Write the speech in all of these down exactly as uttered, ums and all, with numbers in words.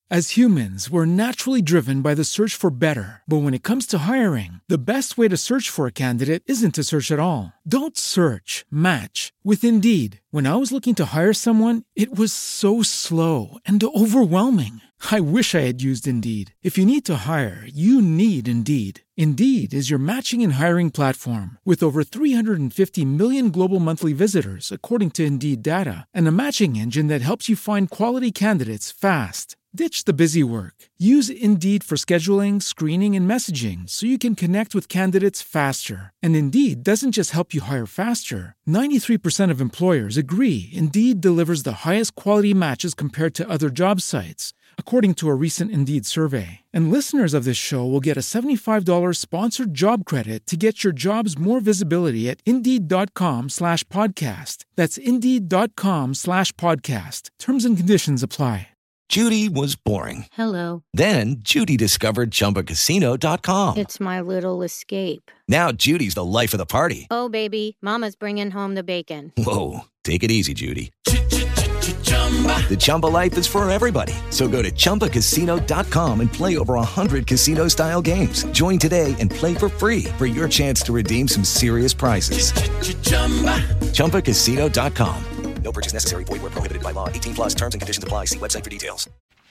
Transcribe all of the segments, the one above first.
As humans, we're naturally driven by the search for better. But when it comes to hiring, the best way to search for a candidate isn't to search at all. Don't search, match with Indeed. When I was looking to hire someone, it was so slow and overwhelming. I wish I had used Indeed. If you need to hire, you need Indeed. Indeed is your matching and hiring platform with over three hundred fifty million global monthly visitors, according to Indeed data, and a matching engine that helps you find quality candidates fast. Ditch the busy work. Use Indeed for scheduling, screening, and messaging so you can connect with candidates faster. And Indeed doesn't just help you hire faster. ninety-three percent of employers agree Indeed delivers the highest quality matches compared to other job sites, according to a recent Indeed survey. And listeners of this show will get a seventy-five dollars sponsored job credit to get your jobs more visibility at Indeed.com slash podcast. That's Indeed.com slash podcast. Terms and conditions apply. Judy was boring. Hello. Then Judy discovered Chumba Casino dot com. It's my little escape. Now Judy's the life of the party. Oh, baby, mama's bringing home the bacon. Whoa, take it easy, Judy. The Chumba life is for everybody. So go to Chumba Casino dot com and play over one hundred casino-style games. Join today and play for free for your chance to redeem some serious prizes. Chumba Casino dot com. No purchase necessary. Void where prohibited by law. eighteen plus terms and conditions apply. See website for details.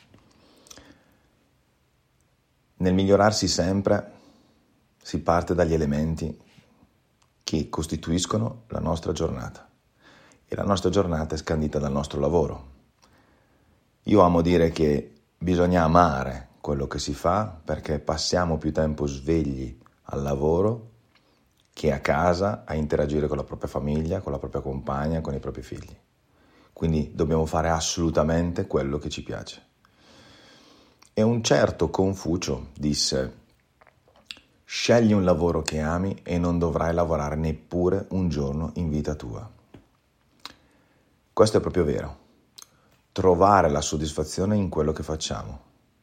Nel migliorarsi sempre si parte dagli elementi che costituiscono la nostra giornata. E la nostra giornata è scandita dal nostro lavoro. Io amo dire che bisogna amare quello che si fa perché passiamo più tempo svegli al lavoro che a casa a interagire con la propria famiglia, con la propria compagna, con i propri figli. Quindi dobbiamo fare assolutamente quello che ci piace. E un certo Confucio disse: scegli un lavoro che ami e non dovrai lavorare neppure un giorno in vita tua. Questo è proprio vero. Trovare la soddisfazione in quello che facciamo.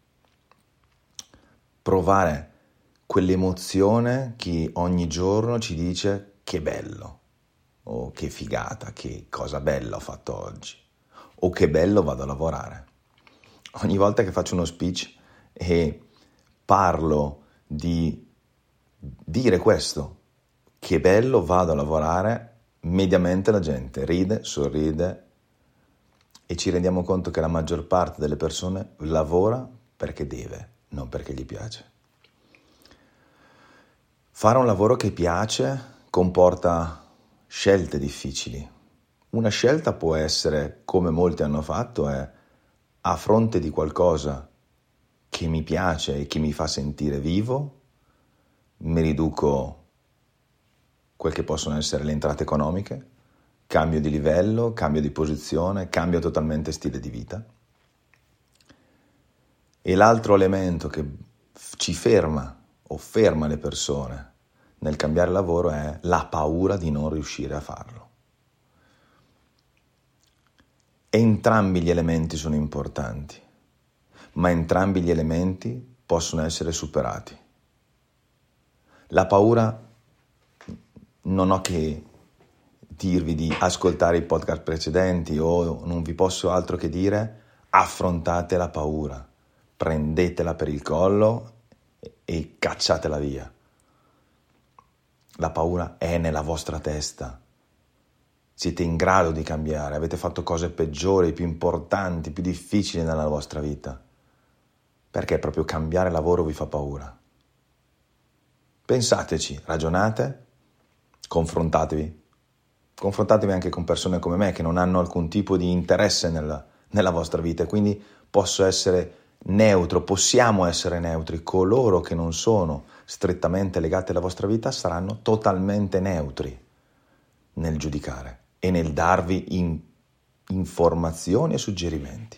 Provare quell'emozione che ogni giorno ci dice che bello, o che figata, che cosa bella ho fatto oggi, o che bello vado a lavorare. Ogni volta che faccio uno speech e parlo di dire questo, che bello vado a lavorare, mediamente la gente ride, sorride e ci rendiamo conto che la maggior parte delle persone lavora perché deve, non perché gli piace. Fare un lavoro che piace comporta scelte difficili. Una scelta può essere, come molti hanno fatto, è a fronte di qualcosa che mi piace e che mi fa sentire vivo, mi riduco quel che possono essere le entrate economiche, cambio di livello, cambio di posizione, cambio totalmente stile di vita. E l'altro elemento che ci ferma o ferma le persone nel cambiare lavoro è la paura di non riuscire a farlo. Entrambi gli elementi sono importanti, ma entrambi gli elementi possono essere superati. La paura, non ho che dirvi di ascoltare i podcast precedenti o non vi posso altro che dire, affrontate la paura, prendetela per il collo e cacciatela via. La paura è nella vostra testa. Siete in grado di cambiare, avete fatto cose peggiori, più importanti, più difficili nella vostra vita. Perché proprio cambiare lavoro vi fa paura? Pensateci, ragionate, confrontatevi. Confrontatevi anche con persone come me che non hanno alcun tipo di interesse nella, nella vostra vita e quindi posso essere neutro, possiamo essere neutri. Coloro che non sono strettamente legati alla vostra vita saranno totalmente neutri nel giudicare e nel darvi in, informazioni e suggerimenti.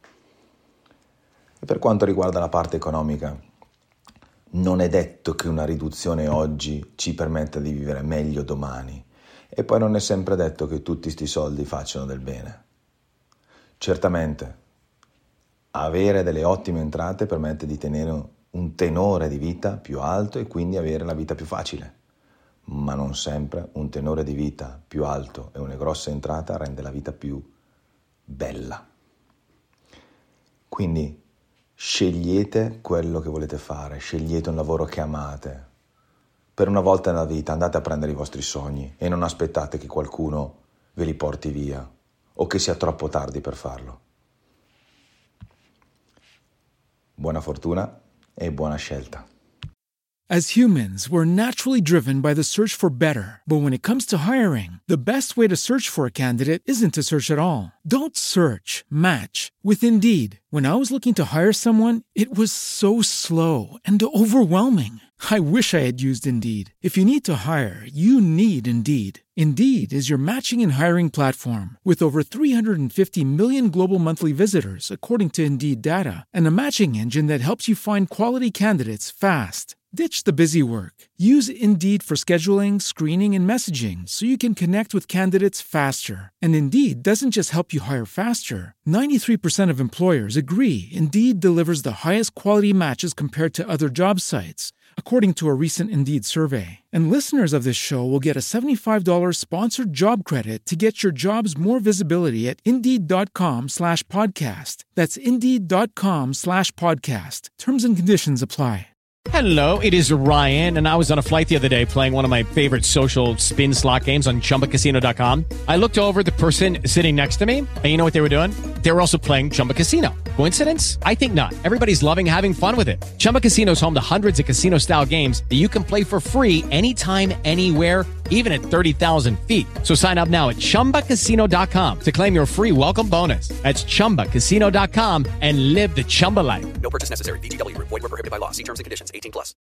E per quanto riguarda la parte economica, non è detto che una riduzione oggi ci permetta di vivere meglio domani. E poi non è sempre detto che tutti sti soldi facciano del bene. Certamente, avere delle ottime entrate permette di tenere un tenore di vita più alto e quindi avere la vita più facile. Ma non sempre un tenore di vita più alto e una grossa entrata rende la vita più bella. Quindi Scegliete quello che volete fare, scegliete un lavoro che amate. Per una volta nella vita andate a prendere i vostri sogni e non aspettate che qualcuno ve li porti via o che sia troppo tardi per farlo. Buona fortuna e buona scelta. As humans, we're naturally driven by the search for better. But when it comes to hiring, the best way to search for a candidate isn't to search at all. Don't search, match with Indeed. When I was looking to hire someone, it was so slow and overwhelming. I wish I had used Indeed. If you need to hire, you need Indeed. Indeed is your matching and hiring platform with over three hundred fifty million global monthly visitors, according to Indeed data, and a matching engine that helps you find quality candidates fast. Ditch the busy work. Use Indeed for scheduling, screening, and messaging so you can connect with candidates faster. And Indeed doesn't just help you hire faster. ninety-three percent of employers agree Indeed delivers the highest quality matches compared to other job sites, according to a recent Indeed survey. And listeners of this show will get a seventy-five dollars sponsored job credit to get your jobs more visibility at Indeed.com slash podcast. That's Indeed.com slash podcast. Terms and conditions apply. Hello, it is Ryan, and I was on a flight the other day playing one of my favorite social spin slot games on Chumba Casino dot com. I looked over at the person sitting next to me, and you know what they were doing? They were also playing Chumba Casino. Coincidence? I think not. Everybody's loving having fun with it. Chumba Casino is home to hundreds of casino-style games that you can play for free anytime, anywhere, even at thirty thousand feet. So sign up now at Chumba Casino dot com to claim your free welcome bonus. That's Chumba Casino dot com and live the Chumba life. No purchase necessary. V G W. Void where prohibited by law. See terms and conditions. eighteen plus.